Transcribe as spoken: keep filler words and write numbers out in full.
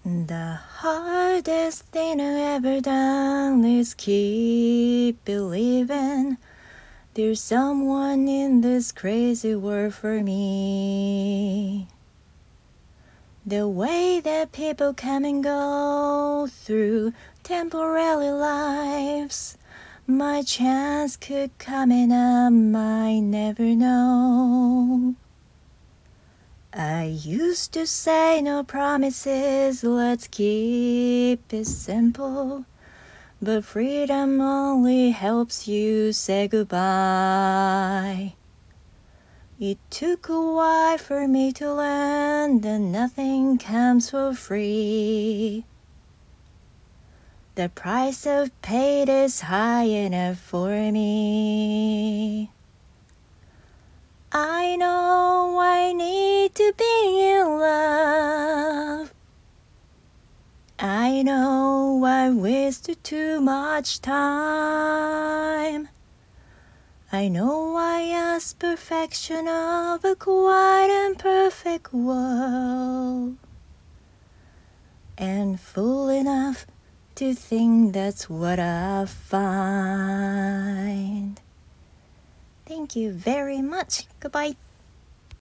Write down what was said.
The hardest thing I've ever done is keep believing there's someone in this crazy world for me. The way that people come and go through temporary lives, my chance could come and I might never know. I used to say no promises, let's keep it simple. But freedom only helps you say goodbye. It took a while for me to learn that nothing comes for free. The price I've paid is high enough for me. I know I need to be in love. I know I wasted too much time. I know I asked perfection of a quite imperfect world, and fool enough to think that's what I find. Thank you very much. Goodbye.